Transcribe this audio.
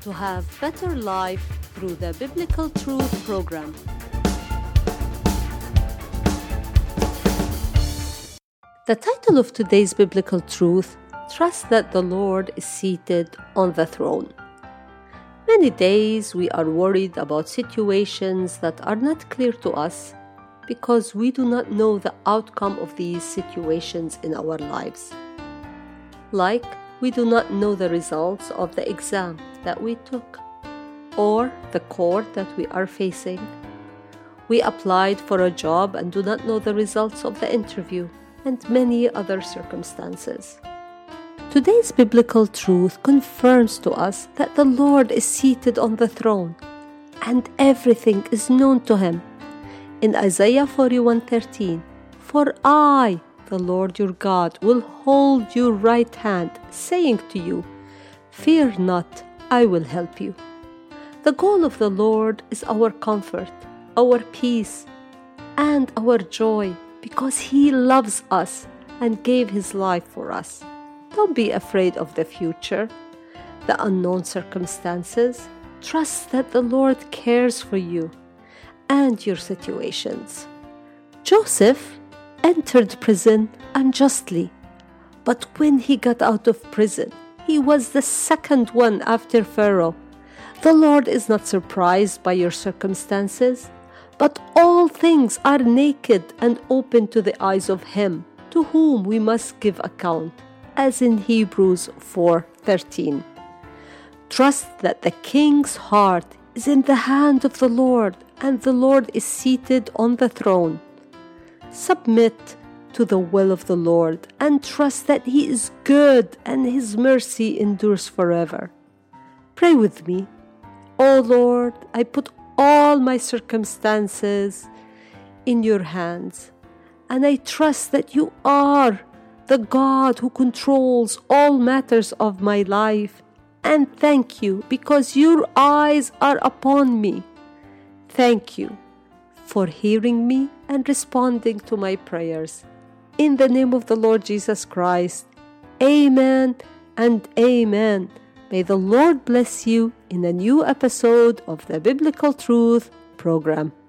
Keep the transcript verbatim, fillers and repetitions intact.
to have better life through the Biblical Truth program. The title of today's Biblical Truth, Trust that the Lord is seated on the throne. Many days we are worried about situations that are not clear to us because we do not know the outcome of these situations in our lives. Like, we do not know the results of the exam that we took or the court that we are facing. We applied for a job and do not know the results of the interview, and many other circumstances. Today's biblical truth confirms to us that the Lord is seated on the throne and everything is known to him. In Isaiah forty-one thirteen, "For I, the Lord your God, will hold your right hand, saying to you, Fear not, I will help you." The goal of the Lord is our comfort, our peace, and our joy, because he loves us and gave his life for us. Don't be afraid of the future, the unknown circumstances. Trust that the Lord cares for you and your situations. Joseph entered prison unjustly, but when he got out of prison, he was the second one after Pharaoh. The Lord is not surprised by your circumstances, but all things are naked and open to the eyes of him to whom we must give account, as in Hebrews four thirteen. Trust that the king's heart is in the hand of the Lord, and the Lord is seated on the throne. Submit to the will of the Lord and trust that he is good and his mercy endures forever. Pray with me. Oh Lord, I put all my circumstances in your hands, and I trust that you are the God who controls all matters of my life, and thank you because your eyes are upon me. Thank you for hearing me and responding to my prayers. In the name of the Lord Jesus Christ, amen and amen. May the Lord bless you in a new episode of the Biblical Truth program.